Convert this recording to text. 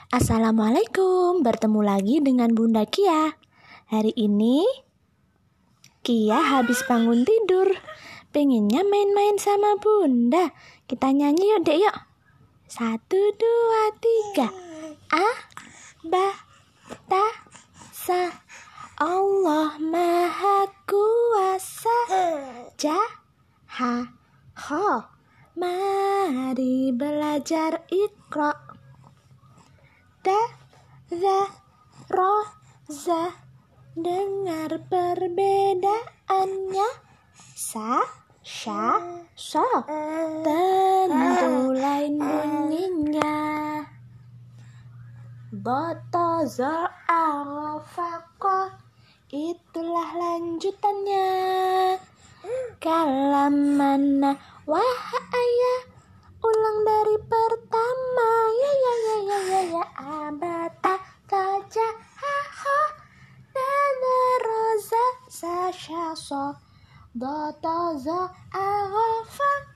Assalamualaikum, bertemu lagi dengan Bunda Kia. Hari ini Kia habis bangun tidur, pengennya main-main sama Bunda. Kita nyanyi yuk dek yuk. 1, 2, 3. A, ba, ta, sa. Allah Maha Kuasa. Ja, ha, ho. Mari belajar Iqra. Da, za, ro, za. Dengar perbedaannya. Sa, sya, so. Tentu lain bunyinya. Bata, za, arafako. Itulah lanjutannya. Kalam mana wahaya. Ulang dari pertama. Ya abata taja ha dana roza sa sha so. Bata, za, arafa